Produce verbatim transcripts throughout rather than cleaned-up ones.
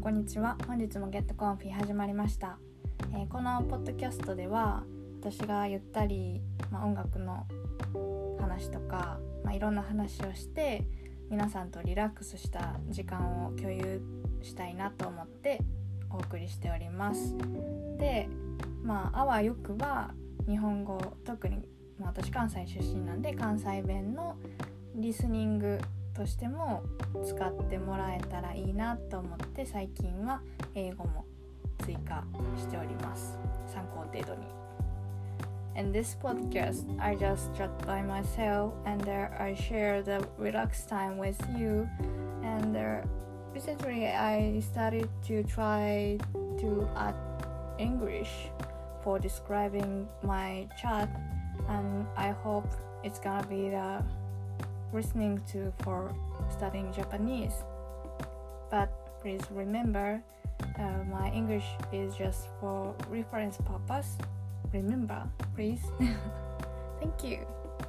こんにちは。本日もゲットコンフィ始まりました、えー、このポッドキャストでは私がゆったり、まあ、音楽の話とか、まあ、いろんな話をして皆さんとリラックスした時間を共有したいなと思ってお送りしております。で、まああわよくば日本語、特に、まあ、私関西出身なんで関西弁のリスニングとしても使ってもらえたらいいなと思って最近は英語も追加しております。参考程度に。In this podcast, I just chat by myself and there I share the relaxed time with you. And there, recently I started to try to add English for describing my chat, and I hope it's gonna be the listening to for studying Japanese. But please remember, uh, my English is just for reference purpose. Remember, please. Thank you.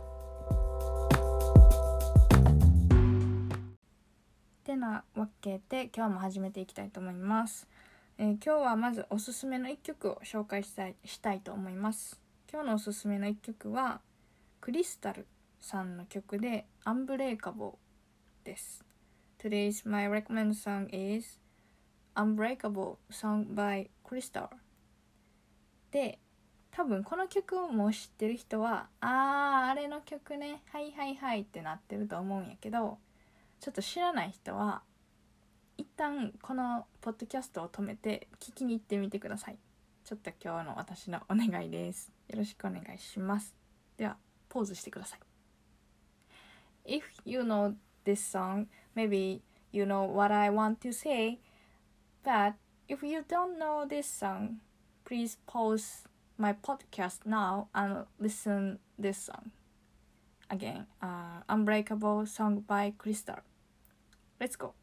てなわけで今日も始めていきたいと思います、えー、今日はまずおすすめのいっきょくを紹介したい、したいと思います。今日のおすすめのいっきょくはクリスタルさんの曲で Unbreakable です。 Today's my recommended song is Unbreakable sung by Crystal で、多分この曲をもう知ってる人はあーあれの曲ね、はいはいはいってなってると思うんやけど、ちょっと知らない人は一旦このポッドキャストを止めて聞きに行ってみてください。ちょっと今日の私のお願いです。よろしくお願いします。ではポーズしてください。If you know this song, maybe you know what I want to say. But if you don't know this song, please pause my podcast now and listen this song. Again, uh, Unbreakable song by Crystal. Let's go!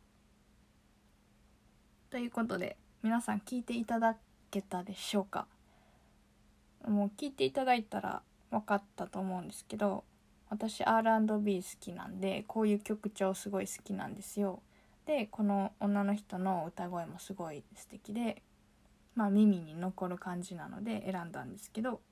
ということで、皆さん聞いていただけたでしょうか？もう聞いていただいたら分かったと思うんですけど、私 アールアンドビー 好きなんで、こういう曲調すごい好きなんですよ。で、この女の人の歌声もすごい素敵で、まあ耳に残る感じなので選んだんですけど、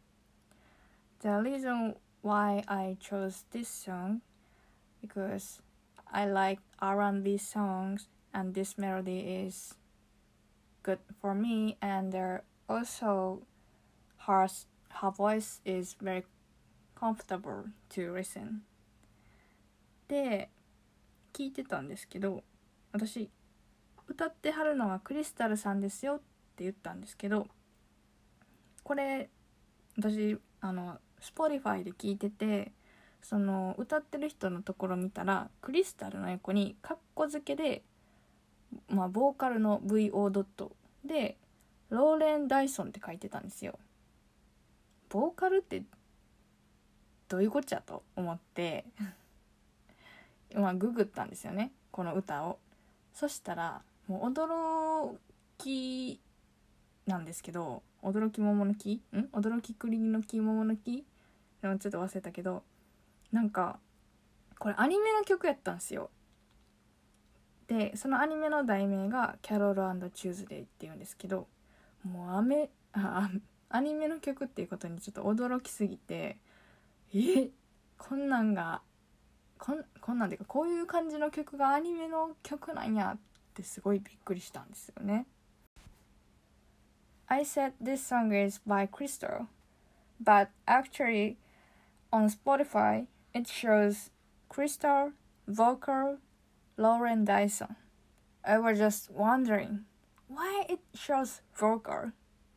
The reason why I chose this song because I like アールアンドビー songs and this melody is good for me, and also her, her voice is very comfortable to listen. で聞いてたんですけど、私歌ってはるのはクリスタルさんですよって言ったんですけど、これ私あの Spotify で聞いてて、その歌ってる人のところ見たらクリスタルの横にカッコ付けで、まあボーカルの ブイオー ドットでローレン・ダイソンって書いてたんですよ。ボーカルってどういうこっちゃと思ってまあググったんですよね、この歌を。そしたらもう驚きなんですけど、驚き桃の木ん驚き栗の木桃の木ちょっと忘れたけど、なんかこれアニメの曲やったんですよ。でそのアニメの題名がキャロル&チューズデイっていうんですけど、もうアメあアニメの曲っていうことにちょっと驚きすぎて、えこんなんがこんこんなんていうかこういう感じの曲がアニメの曲なんやってすごいびっくりしたんですよね。I said this song is by Crystal, but actually on Spotify it shows Crystal, vocal, Lauren Dyson. I was just wondering why it shows vocal.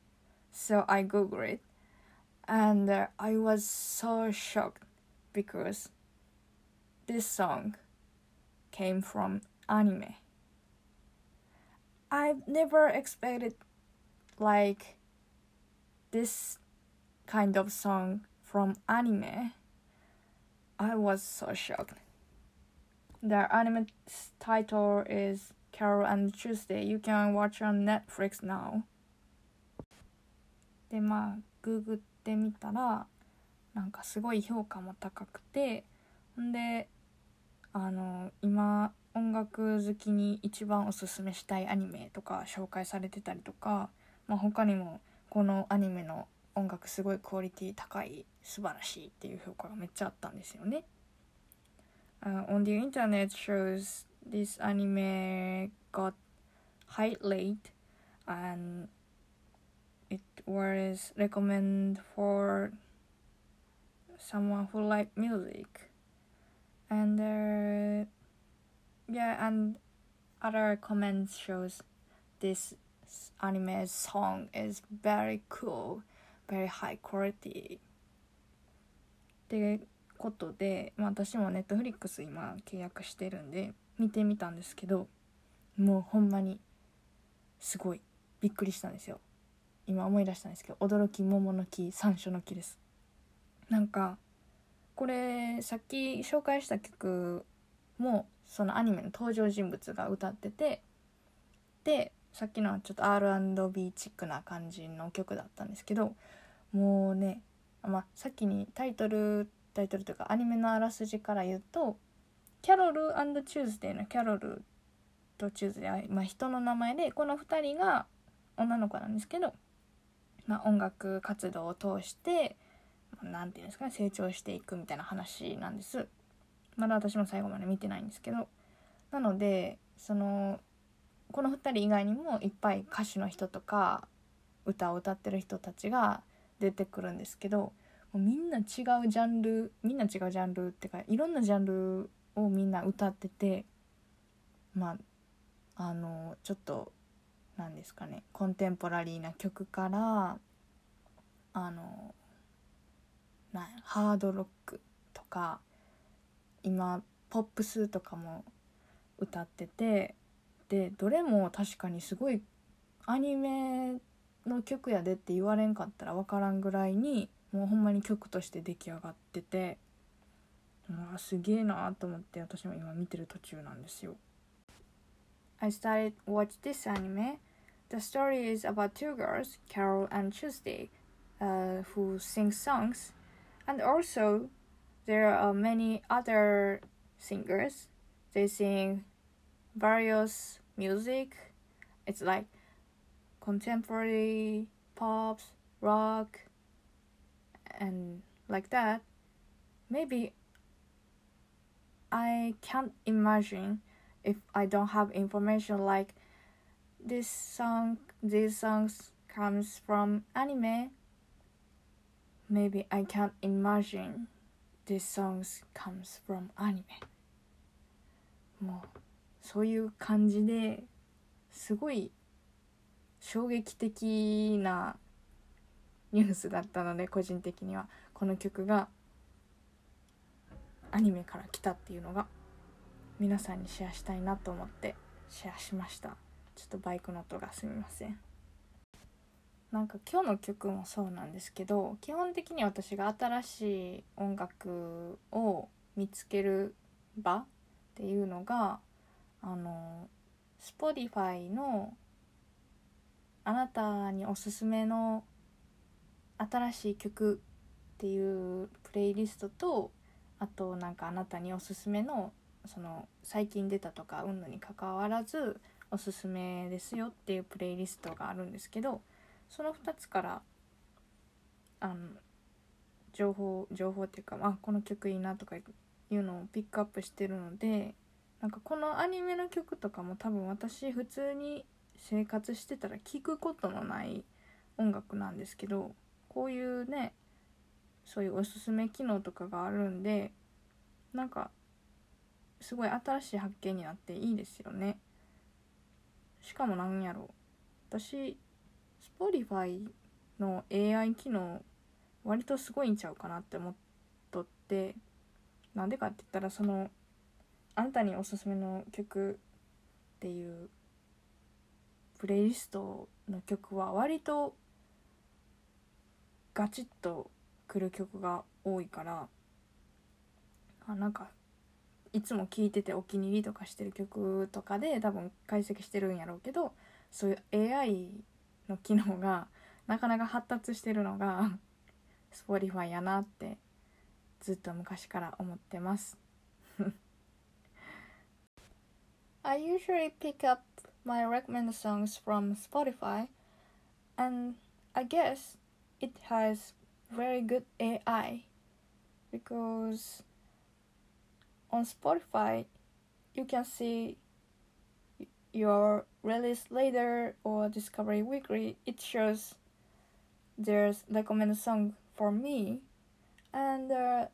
So I googled it, and uh, I was so shocked because this song came from anime. I've never expected like this kind of song from anime. I was so shocked. The anime title is Carol and Tuesday. You can watch on Netflix now. でまあググってみたらなんかすごい評価も高くて、んであの今音楽好きに一番おすすめしたいアニメとか紹介されてたりとか、まあ、他にもこのアニメの音楽すごいクオリティ高い、素晴らしいっていう評価がめっちゃあったんですよね。Uh, on the internet shows this anime got high rate and it was recommended for someone who like music, and uh, yeah, and other comments shows this anime song is very cool, very high quality ってことで、まあ、私もネットフリックス今契約してるんで見てみたんですけど、もうほんまにすごいびっくりしたんですよ。今思い出したんですけど、驚き、桃の木、山椒の木です。なんかこれさっき紹介した曲もそのアニメの登場人物が歌ってて、でさっきのはちょっと アールアンドビー チックな感じの曲だったんですけど、もうね、まあ、先にタイトルタイトルというかアニメのあらすじから言うと、キャロル&チューズデーのキャロルとチューズデーは、まあ、人の名前で、このふたりが女の子なんですけど、まあ、音楽活動を通してなんていうんですかね、成長していくみたいな話なんです。まだ私も最後まで見てないんですけど、なのでそのこのふたり以外にもいっぱい歌手の人とか歌を歌ってる人たちが出てくるんですけど、もうみんな違うジャンルみんな違うジャンルってかいろんなジャンルをみんな歌ってて、まああのちょっとなんですかね、コンテンポラリーな曲からあのなハードロックとか今ポップスとかも歌ってて、でどれも確かにすごいアニメの曲やでって言われんかったら分からんぐらいにもうほんまに曲として出来上がってて、まあすげえなと思って私も今見てる途中なんですよ。 I started watch this anime. The story is about two girls, Carol and Tuesday, uh, who sing songs, and also there are many other singers. They sing various music. It's like contemporary, pop, rock, and like that. Maybe I can't imagine if I don't have information like this song, these songs comes from anime. Maybe I can't imagine these songs comes from anime. もうそういう感じですごい衝撃的なニュースだったので、個人的にはこの曲がアニメから来たっていうのが皆さんにシェアしたいなと思ってシェアしました。ちょっとバイクの音がすみません。なんか今日の曲もそうなんですけど、基本的に私が新しい音楽を見つける場っていうのがあの Spotify のあなたにおすすめの新しい曲っていうプレイリストと、あとなんかあなたにおすすめのその最近出たとかうんぬに関わらずおすすめですよっていうプレイリストがあるんですけど、そのふたつからあの情報情報っていうか、あこの曲いいなとかいうのをピックアップしてるので、なんかこのアニメの曲とかも多分私普通に生活してたら聞くことのない音楽なんですけど、こういうねそういうおすすめ機能とかがあるんで、なんかすごい新しい発見になっていいですよね。しかもなんやろ、私 Spotify の エーアイ 機能割とすごいんちゃうかなって思っとって、なんでかって言ったらそのあなたにおすすめの曲っていうプレイリストの曲は割とガチッとくる曲が多いから、あなんかいつも聴いててお気に入りとかしてる曲とかで多分解析してるんやろうけど、そういう エーアイ の機能がなかなか発達してるのがSpotify やなってずっと昔から思ってます I usually pick up my recommended songs from Spotify, and I guess it has very good A I because on Spotify you can see your release later or Discovery Weekly. It shows there's recommended song for me, and uh,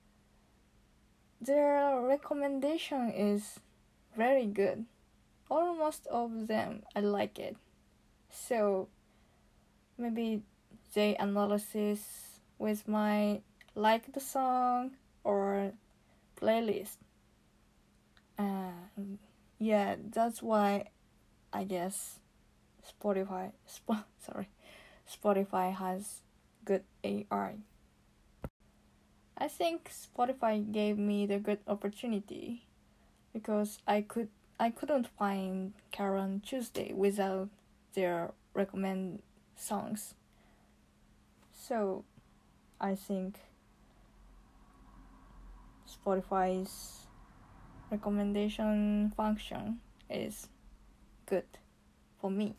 their recommendation is very good. Almost all of them I like it. So maybe they analysis with my like the song or playlist. And yeah, that's why I guess Spotify Sp- sorry Spotify has good A I. I think Spotify gave me the good opportunity because I could I couldn't find Karen Tuesday without their recommend songs. So I think Spotify's recommendation function is good for me.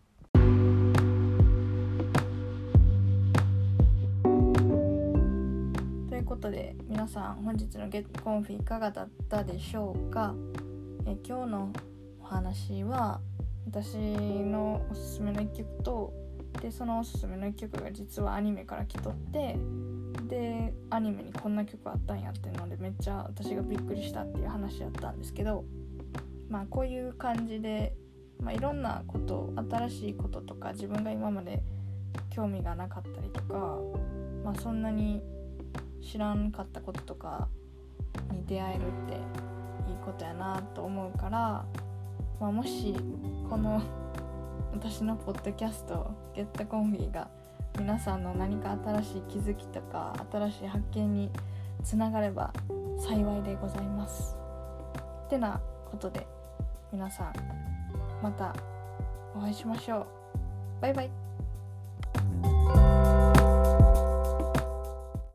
ということで皆さん本日のゲットコンフィいかがだったでしょうか。え今日のお話は私のおすすめのいっきょくとでそのおすすめのいっきょくが実はアニメから来とってでアニメにこんな曲あったんやっていうのでめっちゃ私がびっくりしたっていう話だったんですけど、まあこういう感じで、まあ、いろんなこと新しいこととか自分が今まで興味がなかったりとか、まあ、そんなに知らんかったこととかに出会えるっていいことやなと思うから、まあ、もしこの私のポッドキャストゲットコンフィが皆さんの何か新しい気づきとか新しい発見につながれば幸いでございます。ってなことで皆さんまたお会いしましょう。バイバイ。